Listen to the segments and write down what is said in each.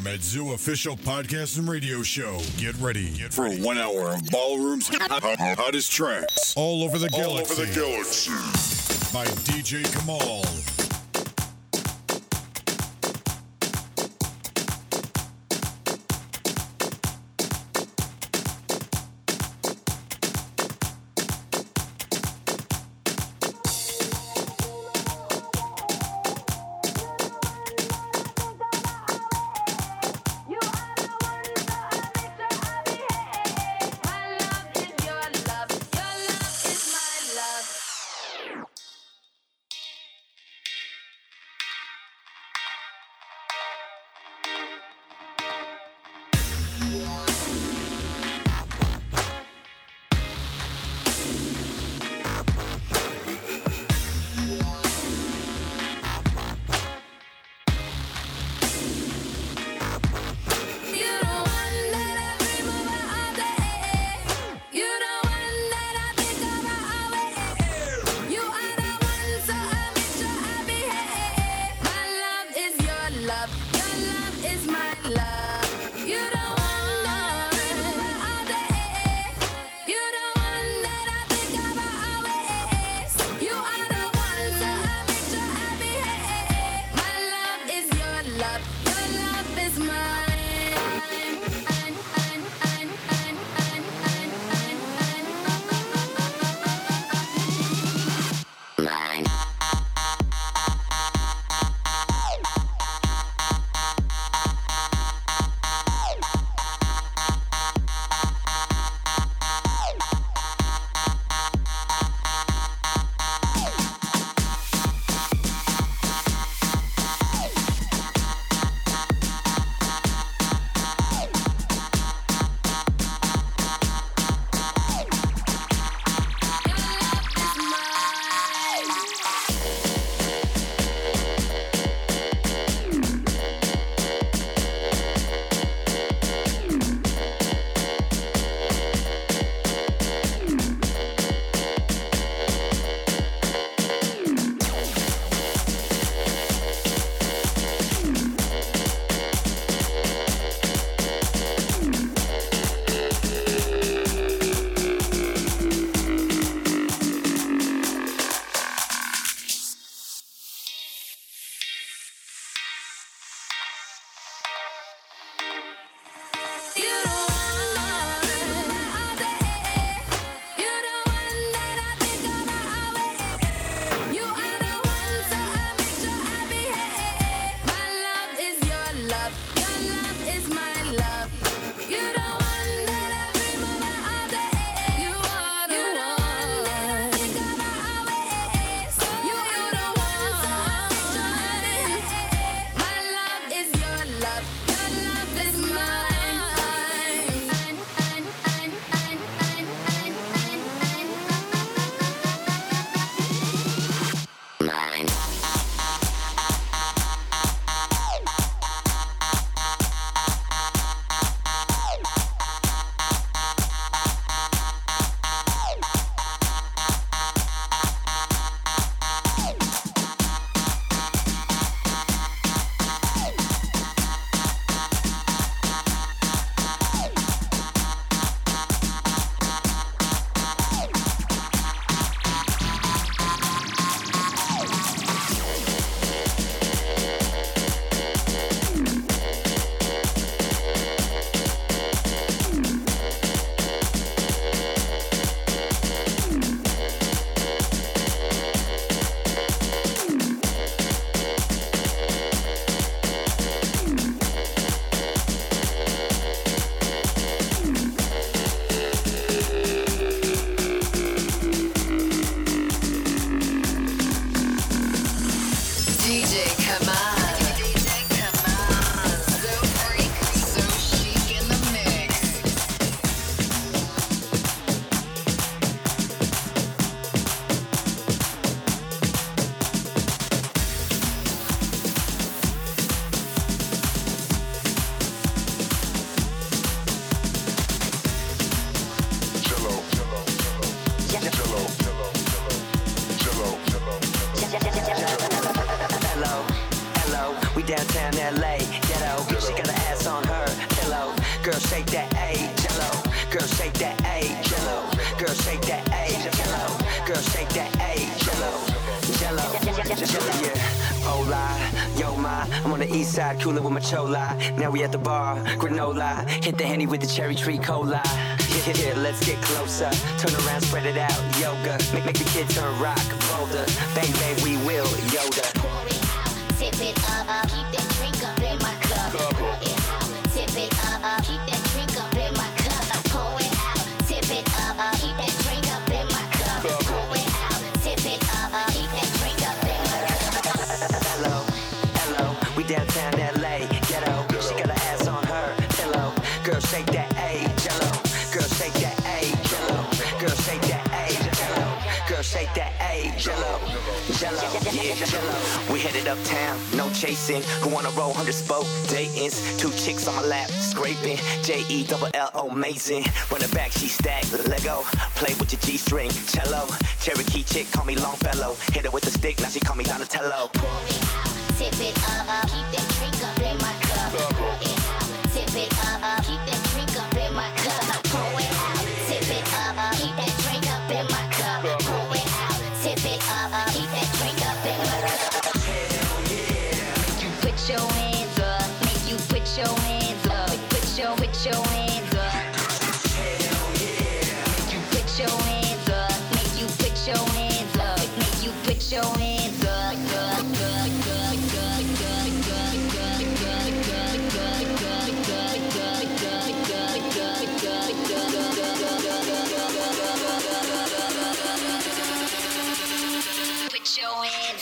Metzu official podcast and radio show. Get ready for 1 hour of Ballroom's hottest tracks all over the galaxy. By DJ Kamal. downtown LA, ghetto. She got her ass on her pillow. Girl, shake that A, jello. Girl, shake that A, jello. Girl, shake that A, jello. Girl, shake that A, jello. Jello, yeah. Hola, yo ma, I'm on the east side, coolin' with my chola. Now we at the bar, granola. Hit the Henny with the cherry tree cola. Yeah, let's get closer. Turn around, spread it out, yoga. Make the kid turn rock, bolder. Bang, bang, we will, Yoda. Pour it out, tip it up, keep that drink up in my cup. Pour it out, tip it up, keep that drink up in my cup. Pour it out, tip it up, keep that drink up in my cup. Pour it out, tip it up, keep that drink up in my cup. Hello, hello, we downtown LA, ghetto. She got her ass on her pillow. Girl, shake that A, jello. Girl, shake that A, jello. Girl, shake that A, jello. Girl, shake that A, jello. Jello, yeah, jello. We headed uptown, no chasing. Who wanna roll 100 spoke Dayton's? 2 chicks on my lap, scraping. Jello, amazing. Run it back, she stacked. Lego, play with your G-string, cello. Cherokee chick, call me Longfellow. Hit her with the stick, now she call me Donatello. Pour it out, tip it up, keep that drink up in my cup. Pour it out, tip it up, keep that drink up in my cup. Pour it out, tip it up, keep that drink up in my cup. Pour it out, tip it up, keep that drink up in my cup. Hell yeah. Make you put your hands up, make you put your hands up, put your hands up. Hell yeah. Make you put your hands up, make you put your hands up, make you put your hands up. Put your hands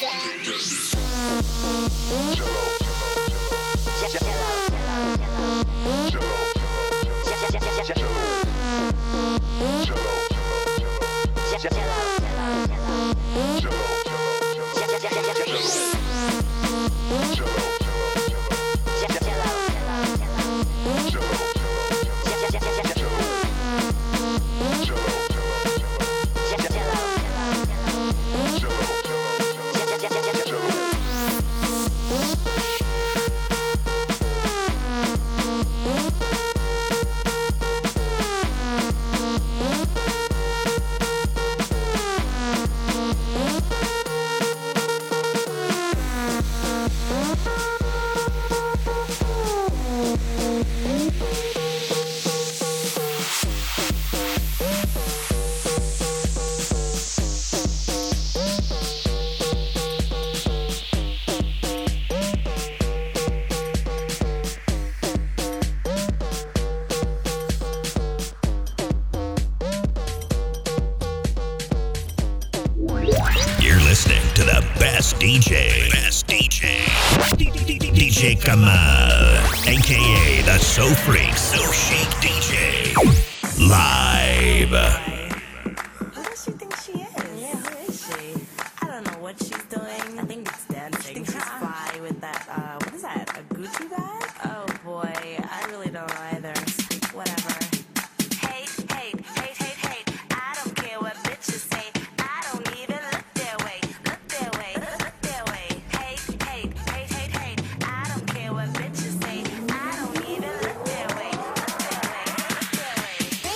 DJ. Best DJ. DJ Kamal, aka the So Freak So Chic DJ. Live. Who does she think she is? Yeah, who is she? I don't know what she's doing. I think it's dancing. She's fly with that, what is that, a Gucci bag? Oh boy, I really don't know either. Whatever. Hate, hate, hate, hate, hate. I don't care what bitches say. I don't even look their way. Look their way, look their way. Hate, hate, hate, hate, hate. I don't care what bitches say. I don't even look their way. Look their way, look their way.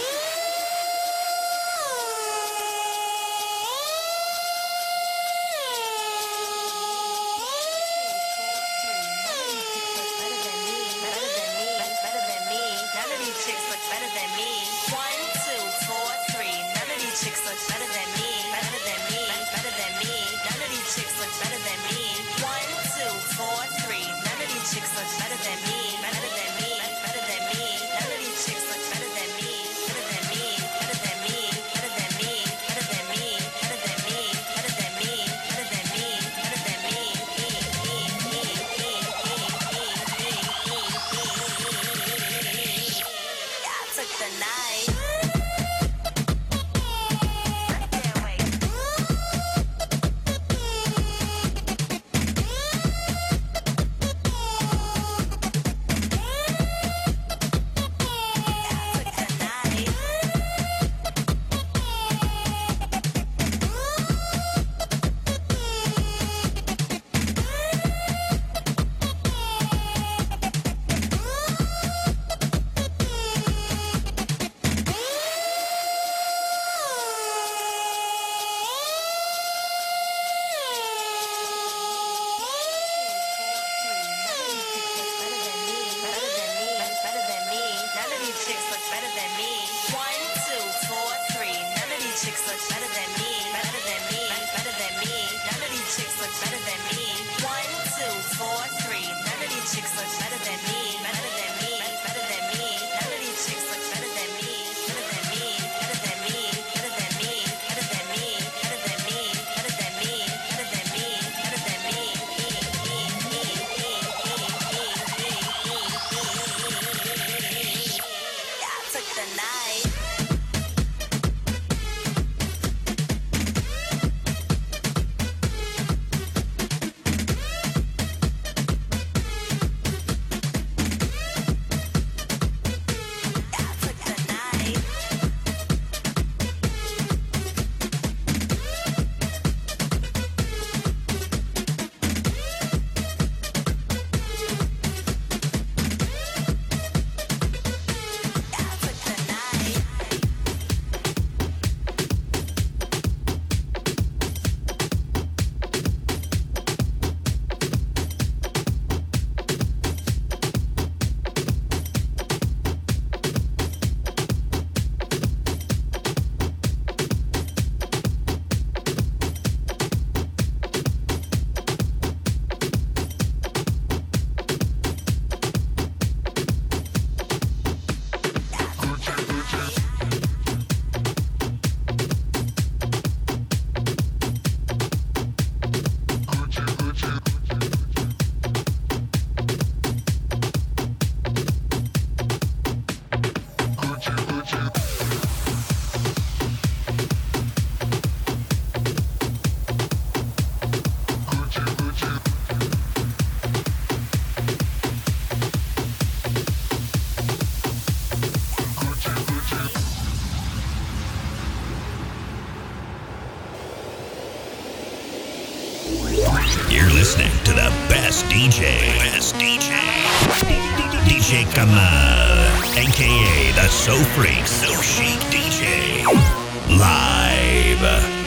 best DJ. DJ Kamal, aka the So Freak, So Chic DJ. Live.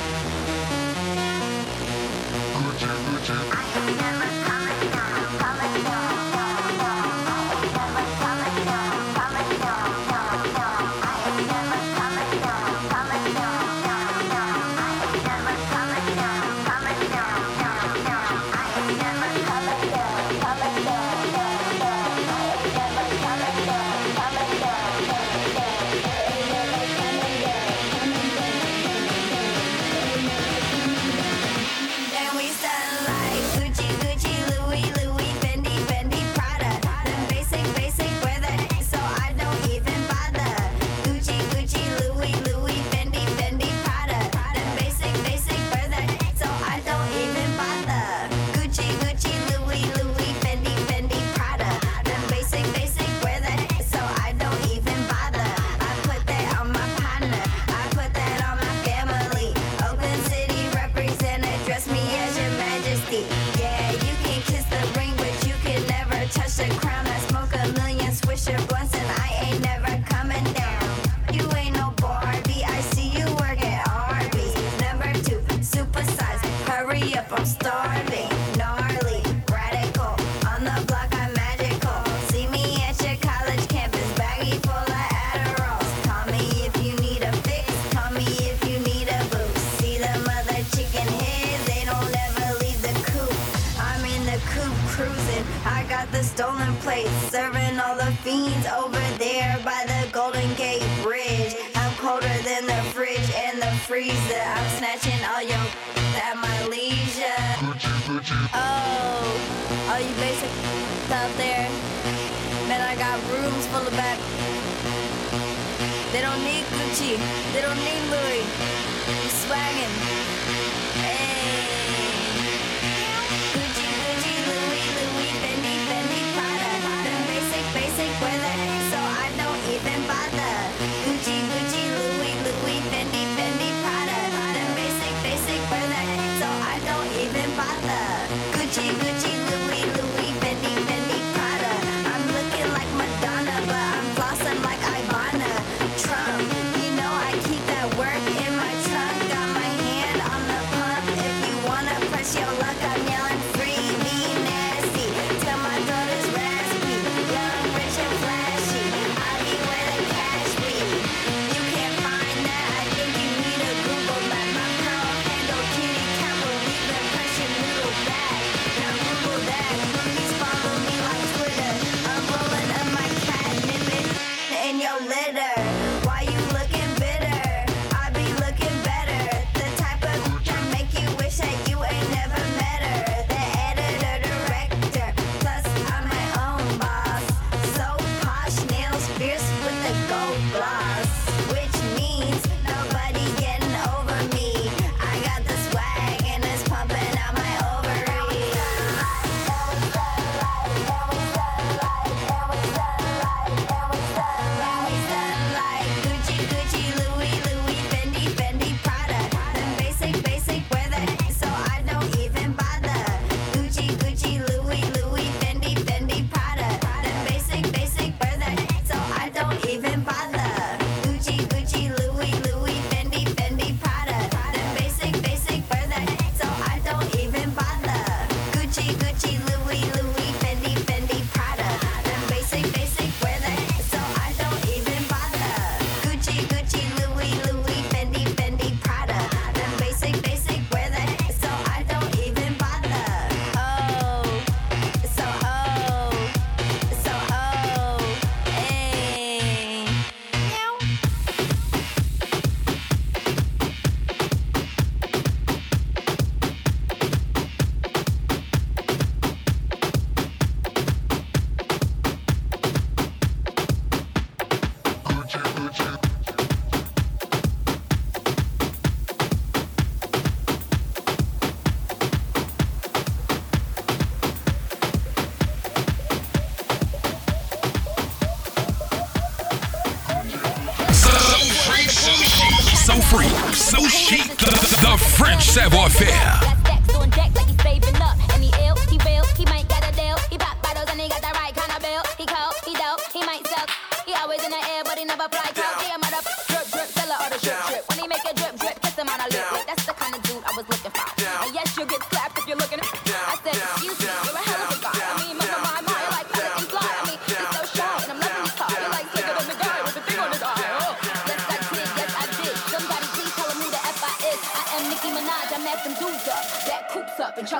So Freak, So Chic, the French savoir-faire. On deck like he's saving up, and he ill, he real, he might got a deal.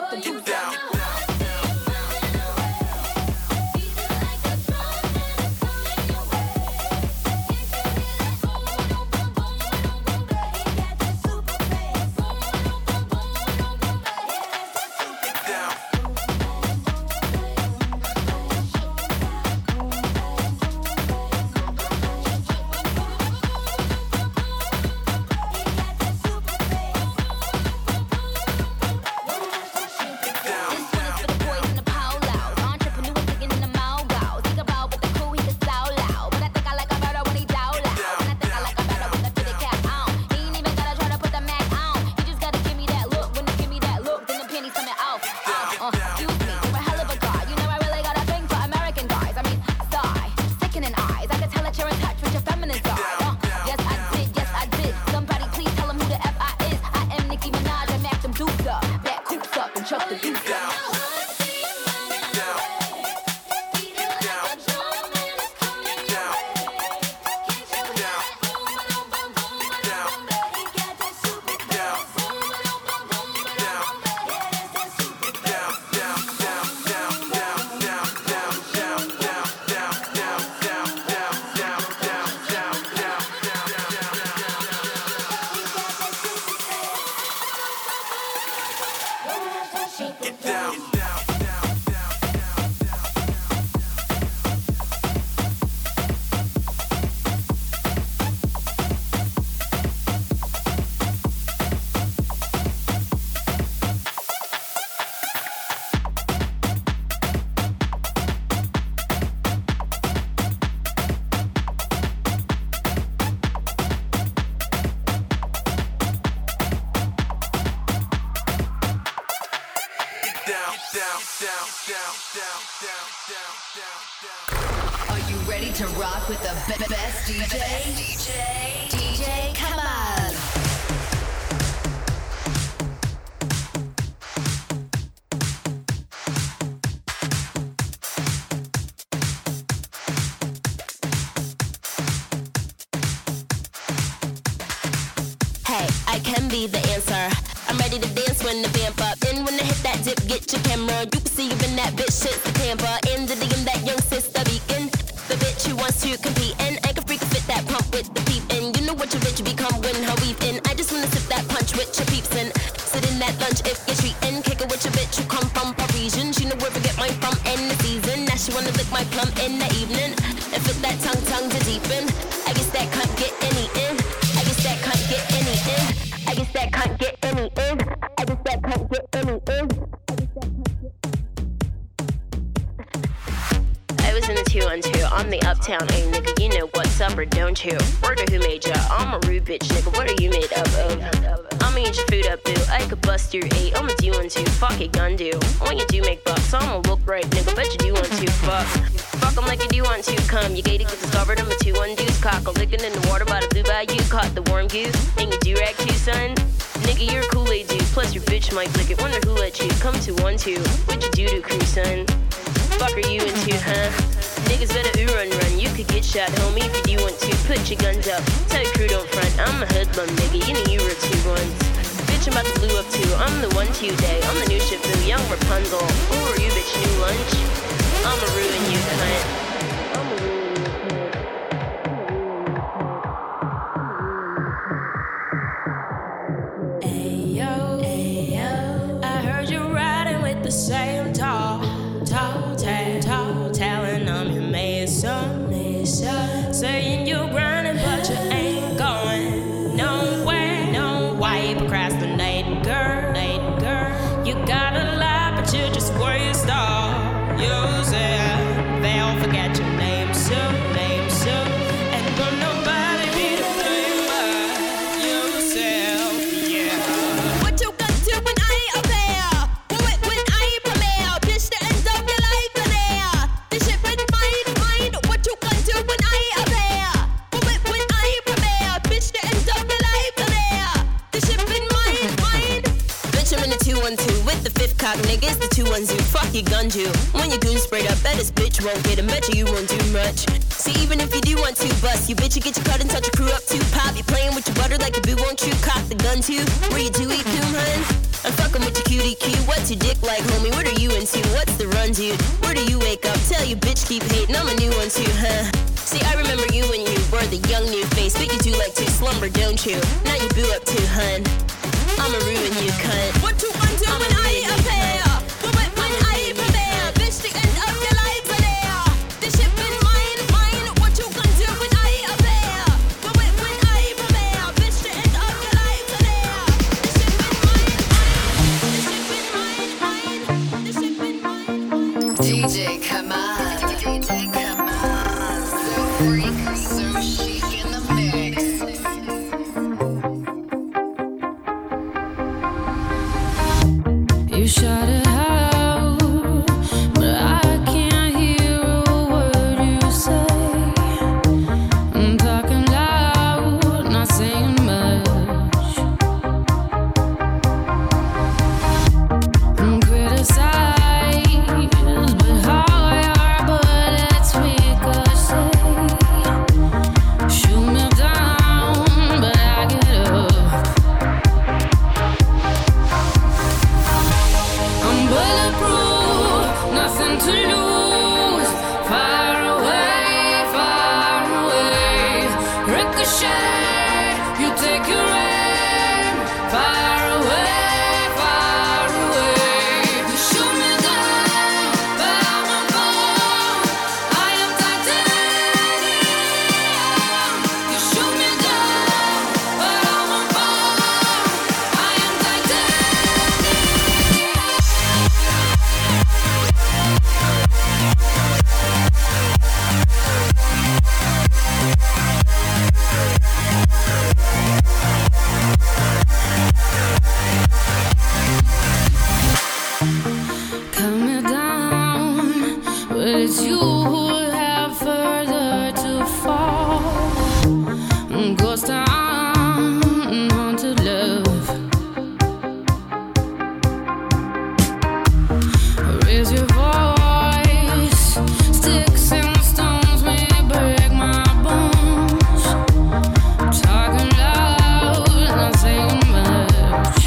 the juice down. Are you ready to rock with the best DJ? DJ, come on. Hey, I can be the answer. I'm ready to dance when the vamp up. And when I hit that dip, get your camera. You can see you in that bitch, shit's the Tampa. In the DM, that young sister beacon. The bitch who wants to compete. And I can freaking fit that pump with the peep. And you know what your bitch become when her weave in. I just wanna sip that punch with your peeps. And sit in that lunch if you're treating. Kick it with your bitch who come from Parisian. She know where to get mine from in the season. Now she wanna lick my plum in the evening. And fit that tongue to deepen. I guess that can't get any in. I guess that can't get any in. I guess that can't get any in. I guess that can't get any in. I was in the 212, I'm the uptown A nigga, you know what's up or don't you? Word of who made ya? I'm a rude bitch nigga, what are you made up of? I'ma eat your food up boo, I could bust your 8, I'ma do 1 2, fuck it gun do. When you do make bucks, I'ma look right nigga, bet you do 1 2, fuck. Fuck 'em like you do 1 2, come, you gated get discovered, I'm a 2 1 deuce, cock a lickin' in the water by the blue bayou, caught the warm goose, and you do rag too son. Nigga, you're a Kool-Aid dude, plus your bitch might lick it, wonder who let you come to 1 2, what you do to crew son? Fuck are you into, huh? Niggas better ooh run, you could get shot, homie, if you do want to. Put your guns up, tell your crew don't front. I'm a hoodlum, nigga, you know you were 2 1s. Bitch, I'm about to blue up too, I'm the 1 2 day. I'm the new ship boo, young Rapunzel. Who are you, bitch, new lunch? I'ma ruin you, cunt. I'ma ruin you, cunt. Ayo, I heard you riding with the same tall telling them you made some, saying you grinding but you ain't going nowhere. No, why you procrastinating, girl? You got a lot but you just waste all yourself. They'll forget your name soon, and will nobody be to blame but yourself, yeah. What you gonna do when I ain't up there? When I ain't premier? Bitch, the end of your life in there. This shit been mine. What you gonna do when I ain't up there? When I ain't premier? Bitch, the end of your life in there. This shit been mine. Bitch, I'm in the 2 1 2 with the 5th cock, niggas, the 2 1 2. Fuck your gun you. When your goon sprayed up, bet this bitch won't get him. Bet you won't do much. See, even if you do want to bust, you bitch, you get your cut and touch your crew up too. Pop, you playing with your butter like a boo, won't you cock the gun too? Where you do eat coon, hun? I'm fucking with your cutie cue. What's your dick like, homie? What are you into? What's the run, dude? Where do you wake up? Tell your bitch keep hating. I'm a new one too, huh? See, I remember you when you were the young new face, but you do like to slumber, don't you? Now you boo up too, hun. I'ma ruin you, cunt. What you gonna do when I appear? When I prepare? Bitch, the end of your life are there. The ship in mine. What you gonna do when I appear? When I prepare? Bitch, the end of your life are there. The ship in mine. The ship in mine. DJ Kamal. So freak, so chic in the mix. You shot it out, but I can't hear a word you say. I'm talking loud, not saying much. I'm criticized, but how your bullets ricochet. Shoot me down, but I get up. I'm bulletproof, nothing to lose. Far away, ricochet. You take your aim. Far away. You shoot me down, but I won't fall. I am titanium. You shoot me down, but I won't fall. I am titanium. Cut me down, but it's you who have further to fall. Ghost town, haunted love. Raise your voice, sticks and stones may break my bones. Talking loud, not saying much.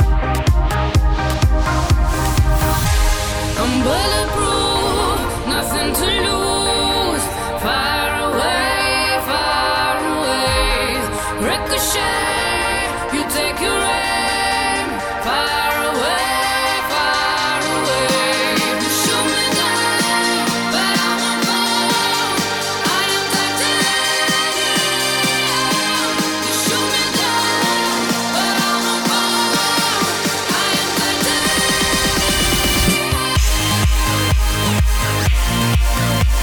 I'm bulletproof, nothing to lose. Far away, ricochet. You take your aim. Far away. You shoot me down, but I won't fall. I am titanium. You shoot me down, but I won't fall. I am titanium.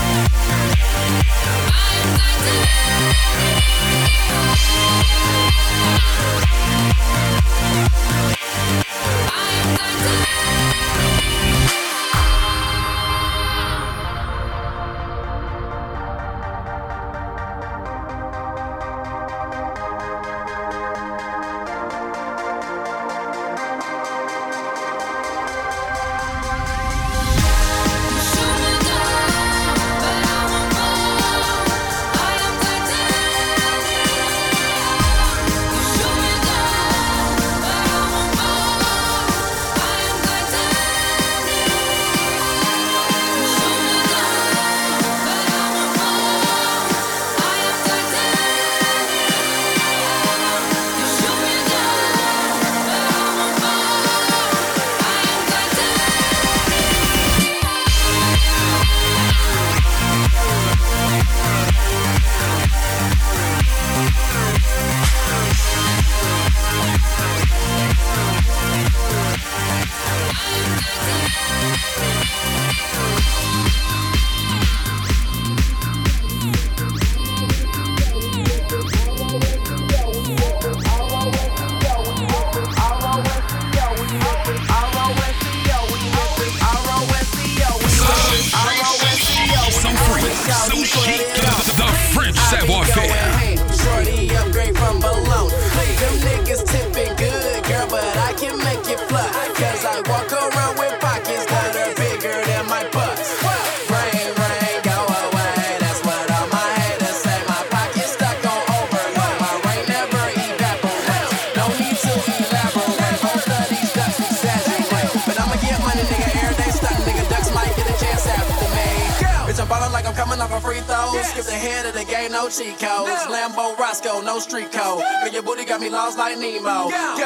coming off a free throw. Skip the head of the game, no cheat codes. Lambo Roscoe, no street code. Girl, your booty got me lost like Nemo.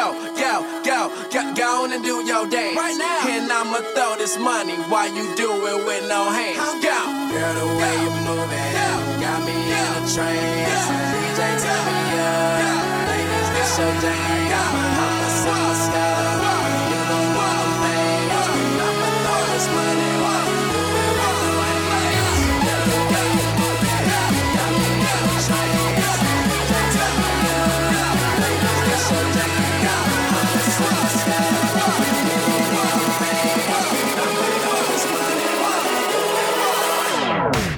Go on and do your dance. Right now. And I'ma throw this money while you do it with no hands. Go. Girl, the way you move it got me in a trance. DJ, turn me up. Ladies, this your jam. I'ma sing my style. You don't want no things. I'ma throw this money while you do it with no hands. Girl, the way you move it got me in a trance. DJ, turn me up. Ladies, this your jam. I'ma sing my style. You don't want no things. I'ma throw this money while you do it with no hands.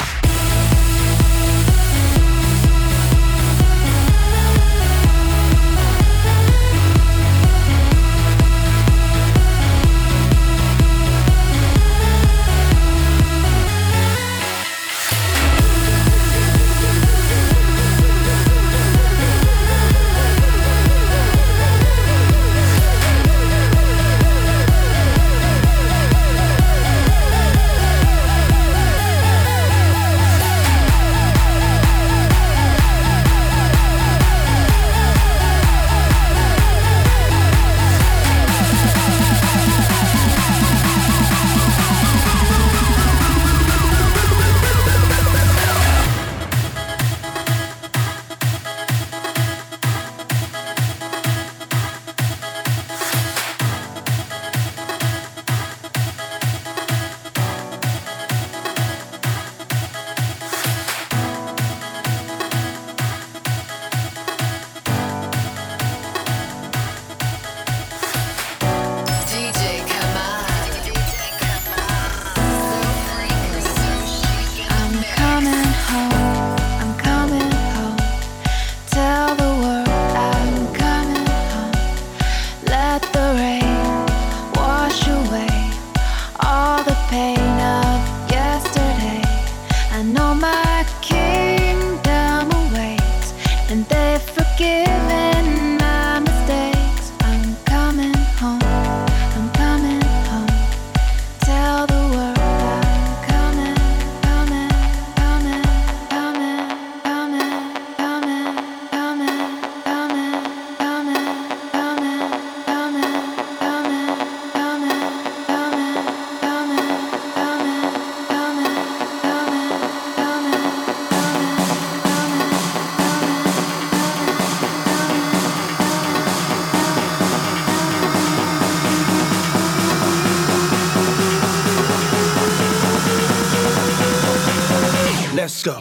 Let's go.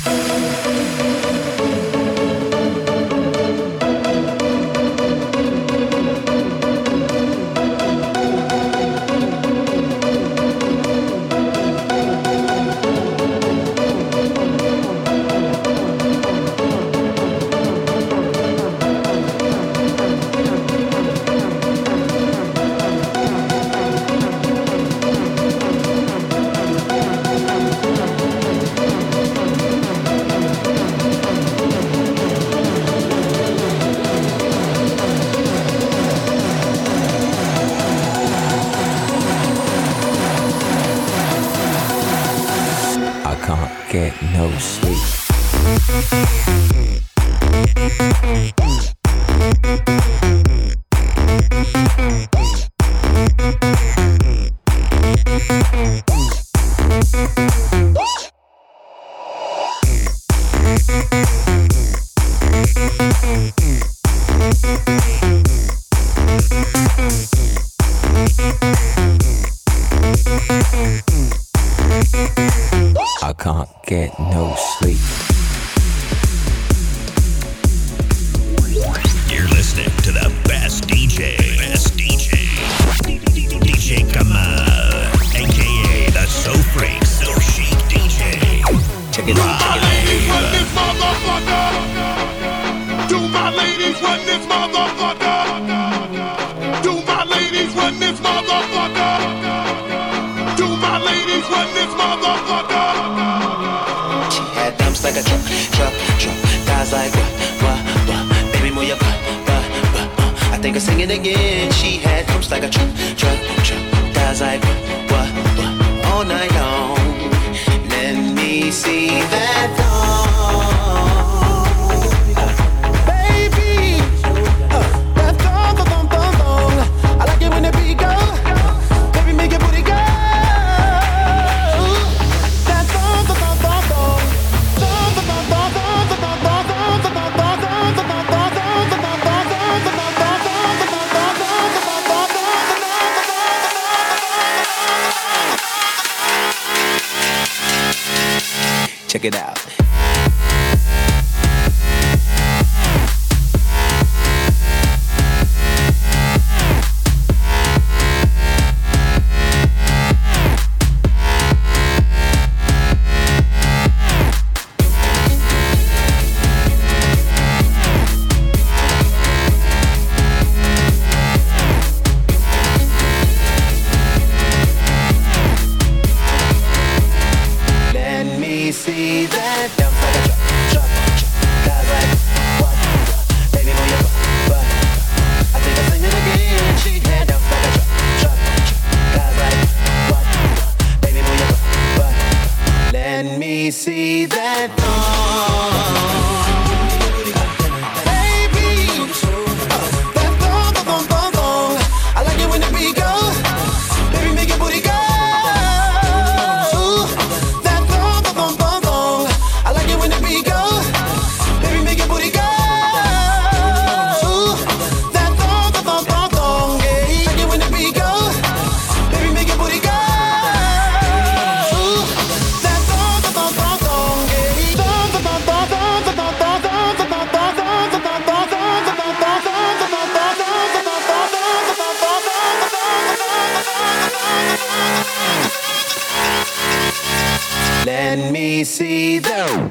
Get no sleep. I can't get no sleep. You're listening to the best DJ. DJ Kamal, aka the So Freak, So Chic DJ. Check it out. Do my ladies run this motherfucker? Do my ladies run this motherfucker? Do my ladies run this motherfucker? Do my ladies run this motherfucker? She had dumps like a truck. Guys like what? Baby, move your butt. I think I'll sing it again. She had dumps like a truck. Guys like what? All night long. Let me me see that thong. Baby, that thong, thong, thong, thong. I like it when the beat go. Baby, make your booty go. That thong, thong, thong, thong, thong. Thong, thong, thong, thong, thong, thong, thong, thong, thong, thong, thong, thong, thong, thong, thong, check it out. See that dump like a truck, guys like what? Baby, move your butt. I think I'm singing again. She had dump like a truck, guys like what? Baby, move your butt. Let me see that thong. Baby, that thong, thong, thong, thong. I like it when the beat goes. Baby, make your booty go. Let me see the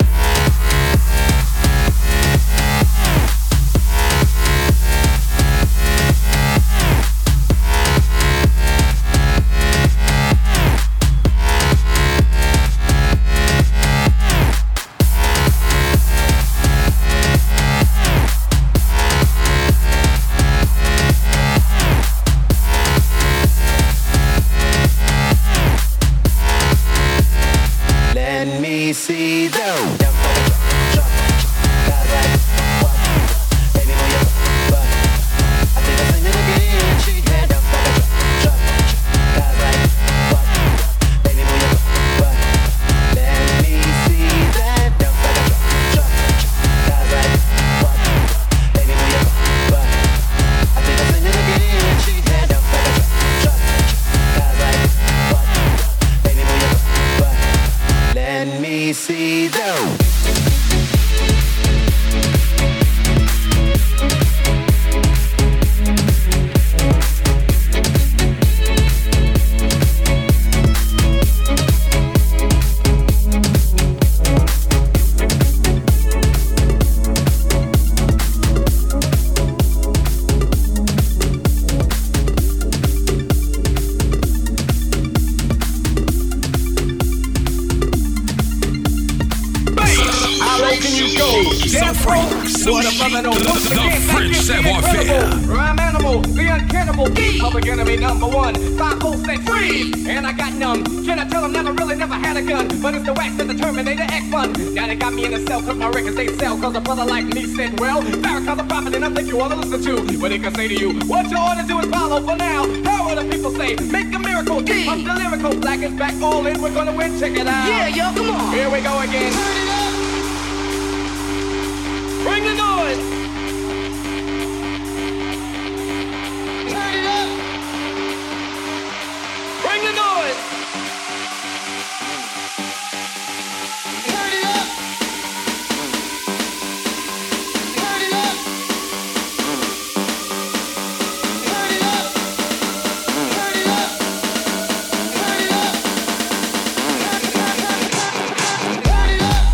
see the baby, move your butt. I think I'm singing again. She had dump like a truck, guys like what? Baby, move your butt. Let me see that dump like a truck, guys like what? Baby, move your butt. I think I'm singing again. She had dump like a truck, guys like what? Baby, move your butt. Let me see the The French savoir-faire. Rhyme animal, the uncannibal, public enemy number one. 5-4-6 freeze, and I got numb. Can I tell them never had a gun, but it's the wax that the Terminator X1. Now they got me in the cell, cause my records they sell, cause a brother like me said, well, Farrakhan's a prophet and I think you ought to listen to what he can say to you. What you ought to do is follow for now. How will the people say? Make a miracle, I'm the lyrical, black is back, all in, we're gonna win, check it out. Yeah, yo, come on. Here we go again. Turn it up. Bring the noise. Turn it up. Bring the noise. Turn it up. Turn it up. Turn it up. Turn it up. Turn it up. Turn it up.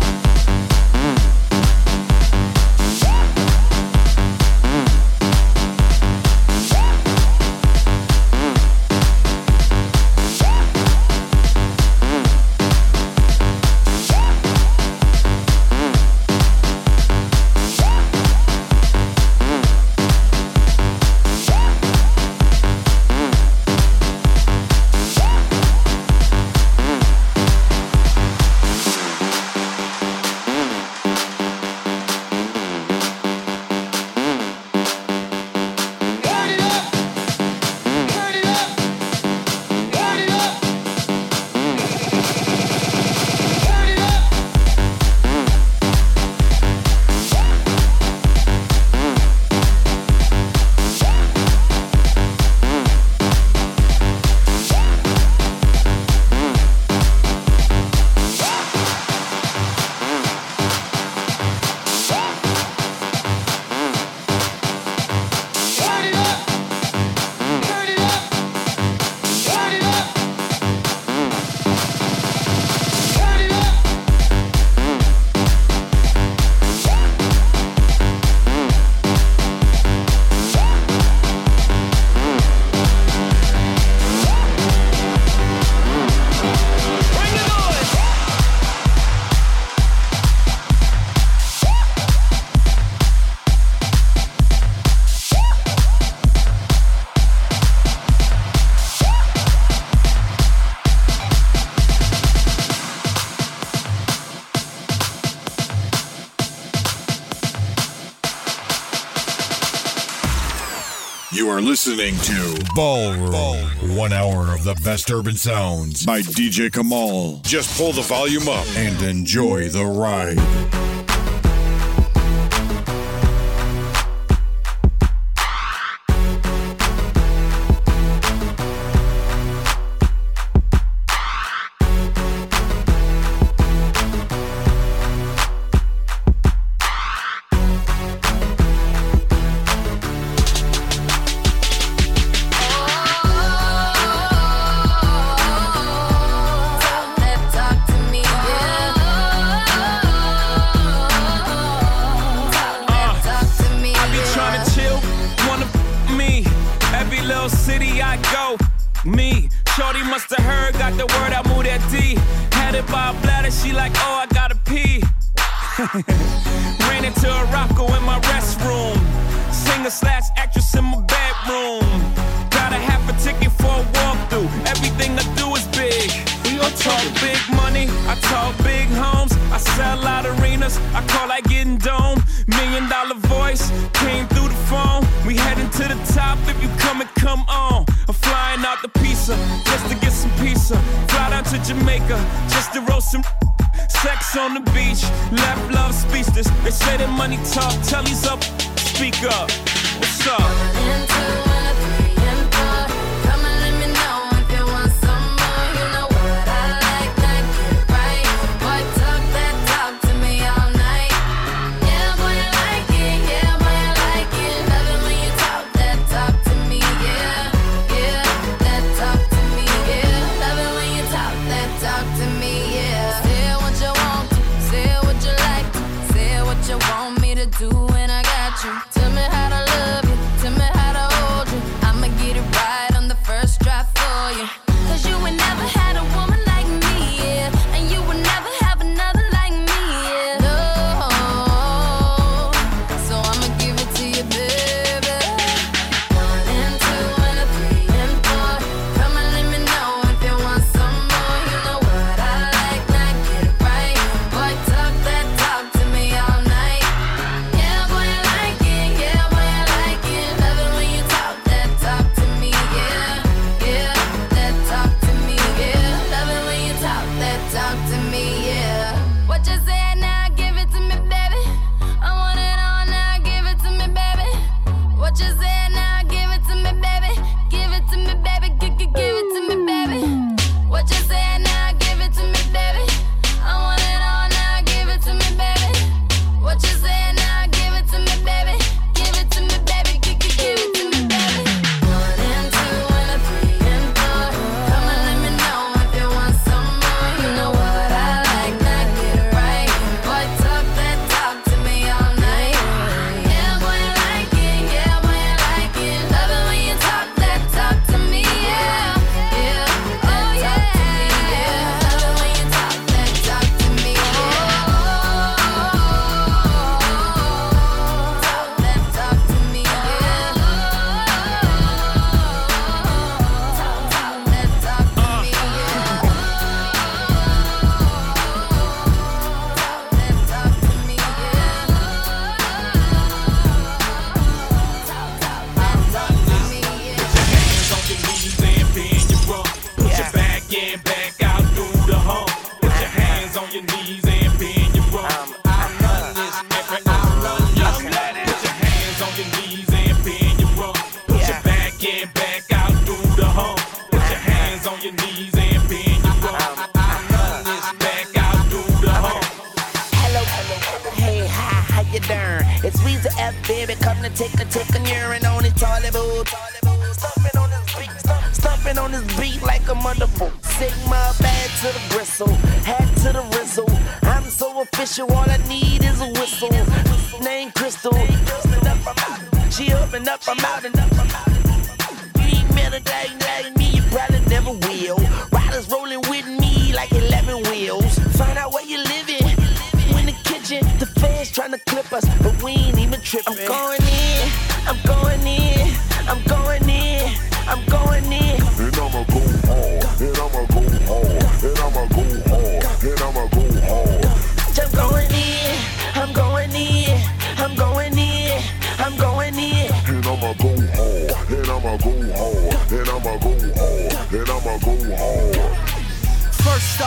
You are listening to Ballroom. 1 hour of the best urban sounds by DJ Kamal. Just pull the volume up and enjoy the ride. Ran into a Rocco in my restroom. Singer/actress in my bedroom. Got a half a ticket for a walkthrough. Everything I do is big. I talk big money, I talk big homes. I sell out arenas, I call like getting dome. $1 million voice came through the phone. We heading to the top, if you come on. I'm flying out to Pisa just to get some pizza. Fly down to Jamaica just to roast some. Sex on the beach, left love speechless. They say that money talk, tell he's up, speak up. What's up? 1 and 2 and a 3 and 4. Come and let me know if you want some more. You know what I like, that get right. Boy, talk that talk to me all night. Yeah, boy, I like it. Yeah, boy, I like it. Love it when you talk that talk to me. Yeah, yeah, that talk to me. Yeah, love it when you talk that talk to me. Yeah. You want me to do and I got you. Tell me how to love you, tell me how to hold you. I'ma get it right on the first try for you. Cause you ain't never had a woman like me, yeah. And you will never have another like me, yeah. No, so I'ma give it to you, baby. 1 and 2 and a 3 and 4. Come and let me know if you want some more. You know what I like, now get it right. Boy, talk that talk to me all night. I'm going in, and I'ma go hard.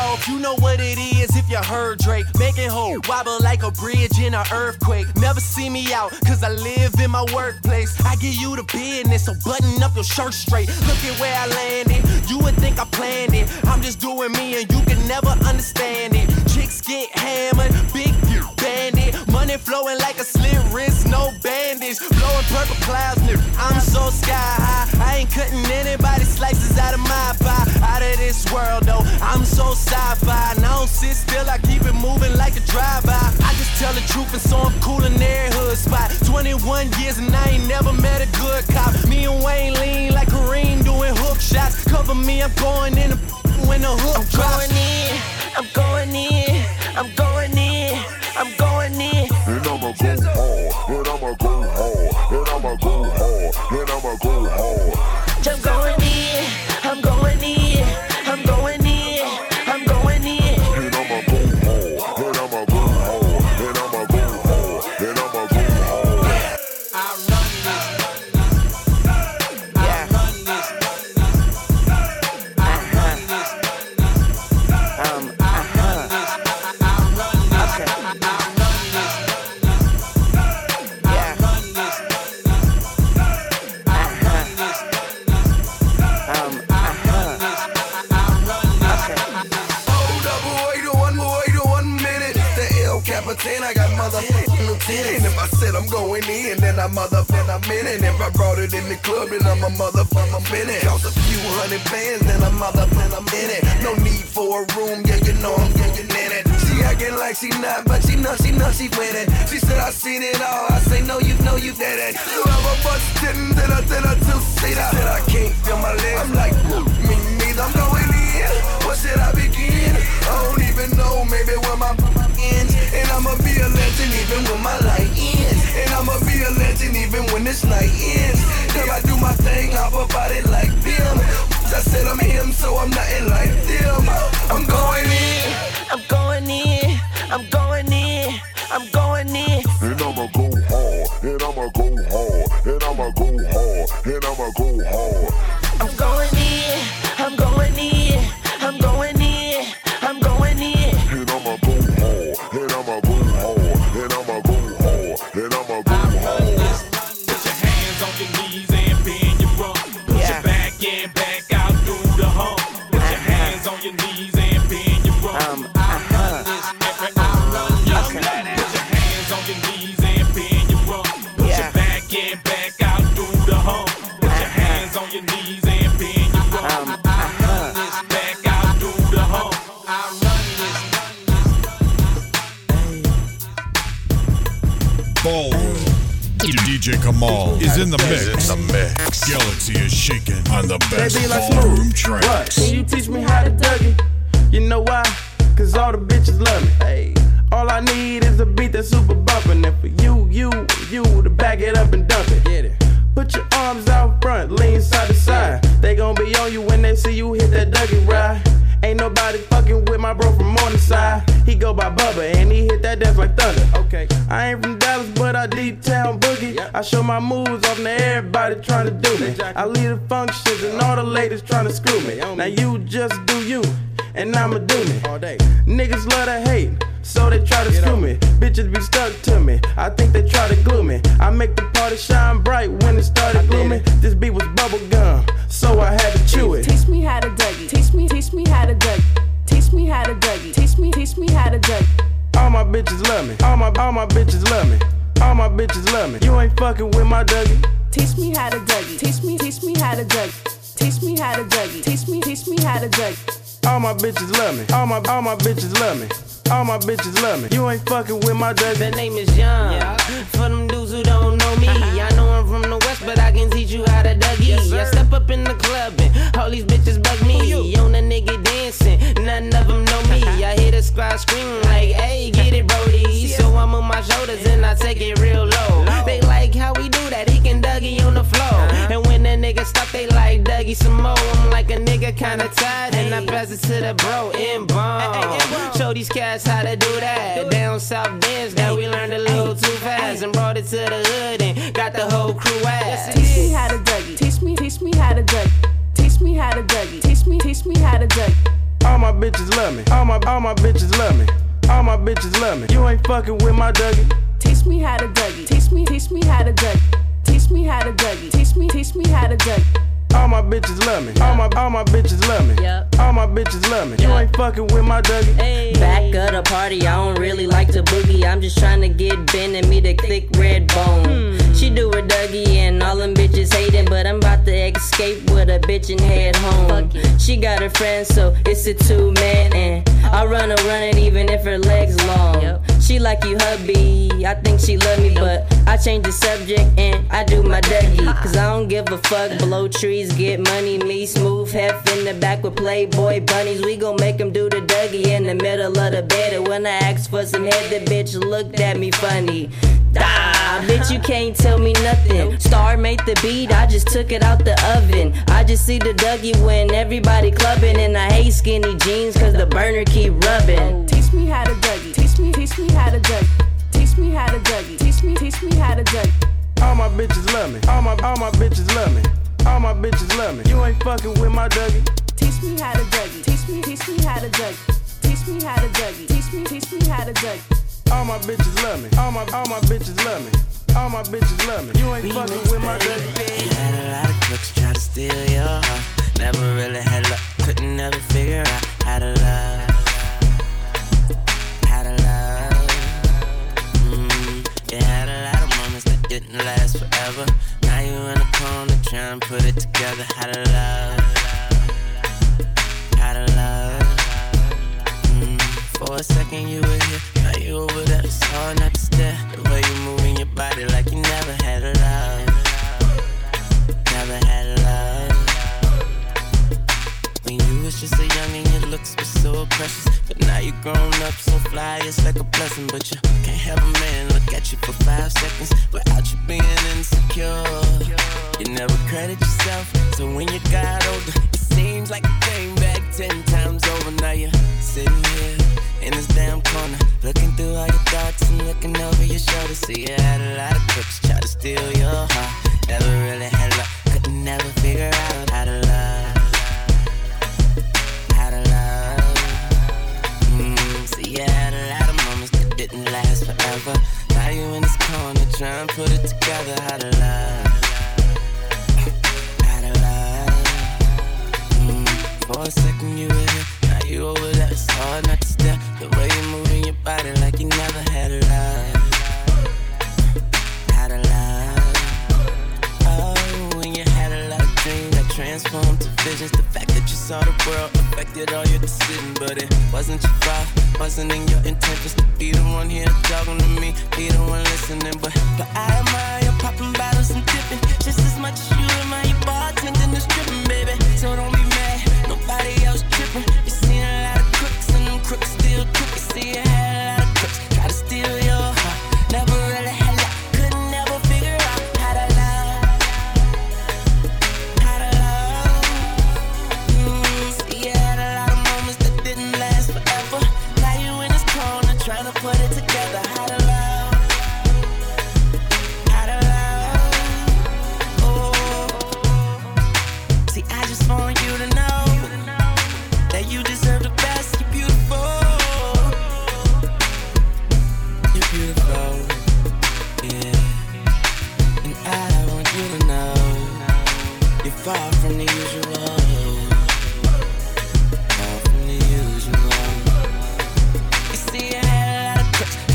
off, you know what it is if you heard Drake. Making hope wobble like a bridge in an earthquake. Never see me out, cause I live in my workplace. I give you the business, so button up your shirt straight. Look at where I landed, you would think I planned it. I'm just doing me and you can never understand it. Chicks get hammered, big bandit. Money flowing like a slit wrist, no bandage. Blowing purple clouds, nigga, I'm so sky high. I ain't cutting anybody slices out of my pie. Out of this world though, I'm so sci-fi. And I don't sit still, I keep it moving like a drive-by. I just tell the truth and so I'm cool in every hood spot. 21 years and I ain't never met a good cop. Me and Wayne lean like Kareem doing hook shots. Cover me, I'm going in when the hook drops. I'm going in, I'm going in, I'm going in. And I'ma go hard, and I'ma go hard, and I'ma go hard, and I'ma go hard. I'm going in, I'm going in, I'm going in, I'm going in. And I'ma go hard, and I'ma go hard, and I'ma go hard, and I'ma go hard. I run this, I run this, I run this, I got motherfucking lieutenant. And if I said I'm going in, then I'm in it. If I brought it in the club, then I'm a motherfucker in it. Cost a few hundred bands, then I'm in it. No need for a room, yeah, you know I'm getting in it. She acting like she not, but she know she with it. She said I seen it all, I say no, you know you did it. You have a bunch didn't, then I two-seater. Said I can't feel my legs, I'm like, me neither. I'm going in, what should I begin? I don't even know, maybe where my ends. And I'ma be a legend even when my light ends. And I'ma be a legend even when this night ends. Cause I do my thing, hop about it like them. I said I'm him, so I'm nothing like them. I'm going in, I'm going in, I'm going in, I'm going in. And I'ma go hard, and I'ma go hard, and I'ma go hard, and I'ma go hard. I'm going in, I'm going in, I'm going in, I'm going in. And I'ma go hard, and I'ma go hard, and I'ma go hard, and I'ma go hard. Put your hands on your knees and bend your rump. Put your back and back out through the hump. Put your hands on your knees and bend your rump. I run this, I run your planet. Put your hands on your knees and bend your rump. Put your back and back out through the hump. Put your hands on your knees and bend your rump. I run this, back out through the hump. I run this. Ballroom. DJ Kamal is in the mix. Galaxy is shaking on the best They be like ballroom smooth. tracks. What? Can you teach me how to Dougie? You know why? Cause all the bitches love me. Hey. All I need is a beat that's super bumpin'. And for you to back it up and dump it. Get it. Put your arms out front, lean side to side. They gon' be on you when they see you hit that Dougie ride. Ain't nobody fucking with my bro from Morningside. He go by Bubba and he hit that dance like thunder. Okay. I ain't from Dallas, but I deep town boogie. I show my moves off to everybody trying to do me. I lead the functions and all the ladies trying to screw me. Now you just do you, and I'ma do me. All day. Niggas love to hate, so they try to screw me. Bitches be stuck to me, I think they try to glue me. I make the party shine bright when it started glooming. This beat was bubble gum, so I had to chew it. Teach me how to Dougie. Teach me how to Dougie. Teach me how to Dougie. Teach me how to Dougie. All my bitches love me. All my bitches love me. All my bitches love me. You ain't fucking with my Dougie. Teach me how to Dougie. Teach me how to Dougie. Teach me how to Dougie. Teach me how to Dougie. All my bitches love me. All my bitches love me. All my bitches love me. You ain't fucking with my Dougie. The name is Young. For them dudes who don't know me, I know I'm from the West, but I can teach you how to Dougie. I step up in the club and all these bitches bug me. On a nigga dancing, none of them know me. I hear the squad scream like, hey, get it, Brody. So I move my shoulders and I take it real low. They like how we do that, he can Dougie on the floor. And when the nigga stop, they like Dougie some more. I'm like a nigga kinda tired and I pass it to the bro in bomb. Show these cats how to do that. Down south dance that we learned a little too fast and brought it to the hood and got the whole crew ass. Teach me how to Dougie. Teach me how to Dougie. Teach me how to Dougie. Teach me how to Dougie. All my bitches love me. All my bitches love me. All my bitches love me. You ain't fucking with my Dougie. Teach me how to Dougie. Teach me how to Dougie. Teach me how to Dougie. Teach me how to Dougie. All my bitches love me. All my bitches love me. All my bitches love me. You ain't fucking with my Dougie. Hey. Back of the party, I don't really like to boogie. I'm just trying to get Ben and me the thick red bone. She do her Dougie and all them bitches hating, but I'm about to escape with a bitch and head home. She got her friends, so it's a 2-man, and I run it even if her legs long. She like you hubby, I think she love me, but I change the subject and I do my Dougie. Cause I don't give a fuck, blow trees, get money. Me smooth, hef in the back with Playboy bunnies. We gon' make them do the Dougie in the middle of the bed. And when I asked for some head, the bitch looked at me funny. Ah, bitch, you can't tell me nothing. Star made the beat, I just took it out the oven. I just see the Dougie when everybody clubbing, and I hate skinny jeans cause the burner keep rubbing. Teach me how to Dougie. Teach me how to Dougie. Teach me how to Dougie. Teach me how to Dougie. All my bitches love me. All my bitches love me. All my bitches love me. You ain't fucking with my Dougie. Teach me how to Dougie. Teach me how to Dougie. Teach me how to Dougie. Teach me how to Dougie. All my bitches love me. All my bitches love me. All my bitches love me. You ain't fucking with my Dougie. You had a lot of crooks try to steal your heart. Never really had luck. Couldn't never figure out how to love. How to love. You had a lot of moments that didn't last forever. Now you in the corner trying to put it together. How to love. How to love. For a second you were here, now you over there. It's hard not to stare. The way you moving your body like you never had a love. Never had a love. When you was just a youngin', your looks were so precious. But now you grown up, so fly, it's like a blessing. But you can't have a man look at you for 5 seconds without you being insecure. You never credit yourself, so when you got older, it seems like you came back 10 times over. Now you're sitting here in this damn corner, looking through all your thoughts and looking over your shoulder. See, you had a lot of crooks try to steal your heart. Never really had luck, couldn't never figure out how to love. How to love. See, you had a lot of moments that didn't last forever. Now you in this corner trying to put it together. How to love. How to love. For a second you were here, now you over there. It's hard not to stare. The way you moving your body like you never had a love. Had a love. Oh, when you had a lot of dreams that transformed to visions. The fact that you saw the world affected all your decisions, but it wasn't your fault. Wasn't in your intentions to be the one here talking to me, be the one listening. But I admire you popping bottles and dipping just as much as you admire your bartending and stripping, baby. So don't be mad, nobody else tripping. You seen a lot of crooks and them crooks still crook. You see you had a lot of crooks try to steal your heart. Never really had luck, couldn't never figure out how to love. How to love. See you had a lot of moments that didn't last forever. Now you in this corner trying to put it together. How to love. How to love. Oh. See, I just want you to know that you deserve the best. You're beautiful. You're beautiful. Yeah. And I want you to know you're far from the usual. Far from the usual. You see, I had a lot of crooks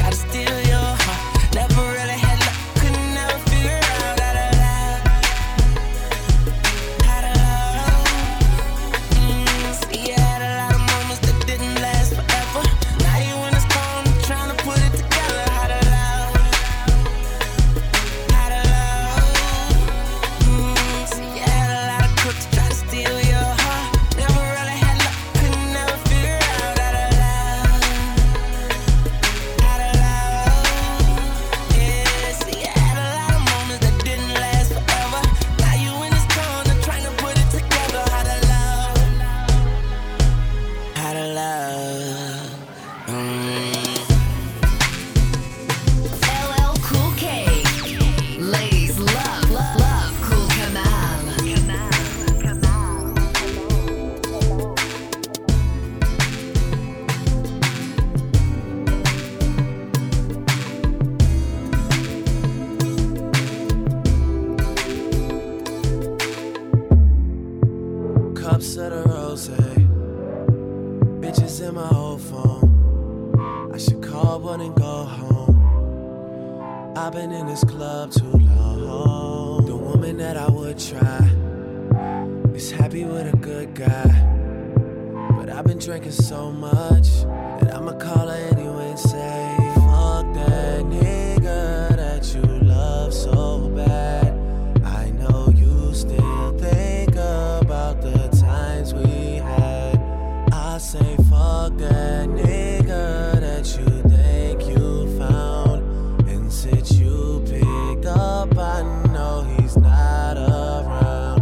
Cups of the rose, bitches in my old phone. I should call one and go home. I've been in this club too long. The woman that I would try is happy with a good guy. But I've been drinking so much that I'ma call her anyway and say, fuck that nigga that you love so bad. I know you still think about the times we had. I say fuck that nigga that you think you found. And since you picked up, I know he's not around.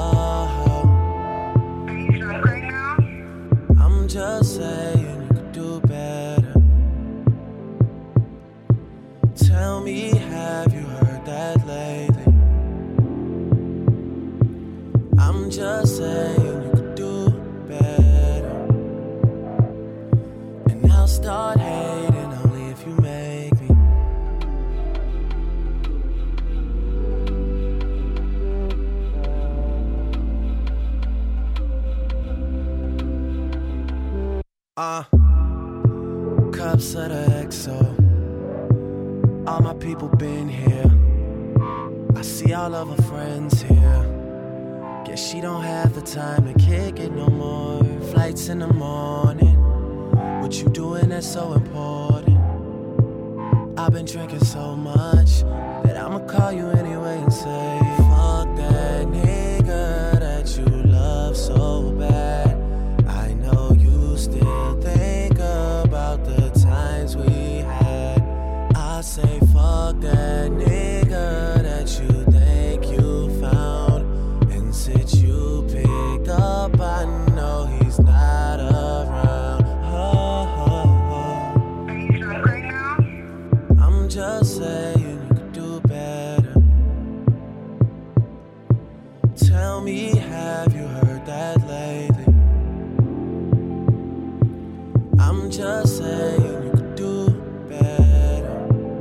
I'm just saying you could do better. Tell me, have you heard that lately? I'm just saying you could do better. And I'll start hating only if you make me. Cups of the XO. All my people been here. I see all of her friends here. Guess she don't have the time to kick it no more. Flights in the morning. What you doing that's so important? I've been drinking so much that I'ma call you anyway and say, fuck that nigga that you love so bad. I know you still think about the times we had. I say fuck that nigga that you think you found. And since you picked up, I know he's not around. I'm just saying you could do better. Tell me, have you heard that lately? I'm just saying you could do better.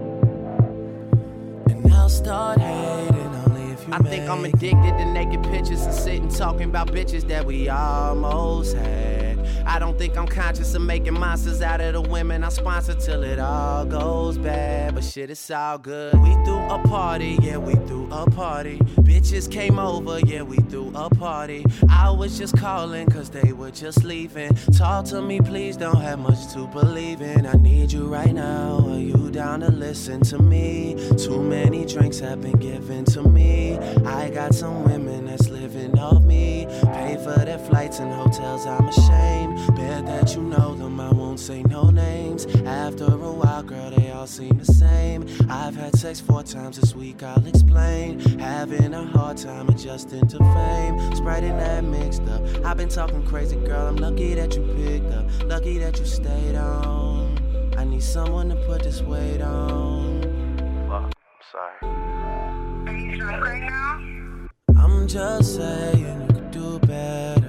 And I'll start hating only if you I think I'm addicted to naked pictures and sitting talking about bitches that we almost had. I don't think I'm conscious of making monsters out of the women I sponsor till it all goes bad. But shit, it's all good. We threw a party, yeah, we threw a party. Bitches came over, yeah, we threw a party. I was just calling cause they were just leaving. Talk to me, please, don't have much to believe in. I need you right now, are you down to listen to me? Too many drinks have been given to me. I got some women that's living off me. Pay for their flights and hotels, I'm ashamed. Bet that you know them, I won't say no names. After a while, girl, they all seem the same. I've had sex 4 times this week, I'll explain. Having a hard time adjusting to fame. Sprite and that mixed up. I've been talking crazy, girl, I'm lucky that you picked up. Lucky that you stayed on. I need someone to put this weight on. Fuck, I'm sorry. Are you drunk right now? I'm just saying you could do better.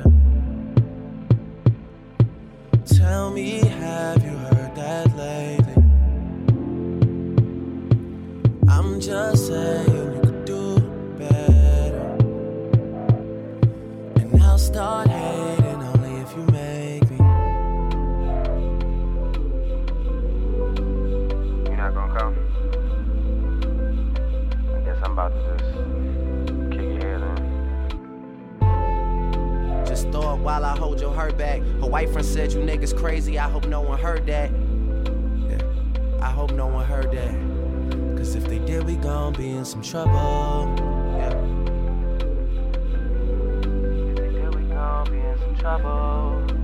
Tell me, have you heard that lately? I'm just saying you could do better. And I'll start hating only if you make me. You're not gonna come? I guess I'm about to just kick your head in. Just throw it while I hold your hurt back. Her white friend said you niggas crazy, I hope no one heard that. Yeah, I hope no one heard that. Cause if they did, we gon' be in some trouble. Yeah. If they did, we gon' be in some trouble.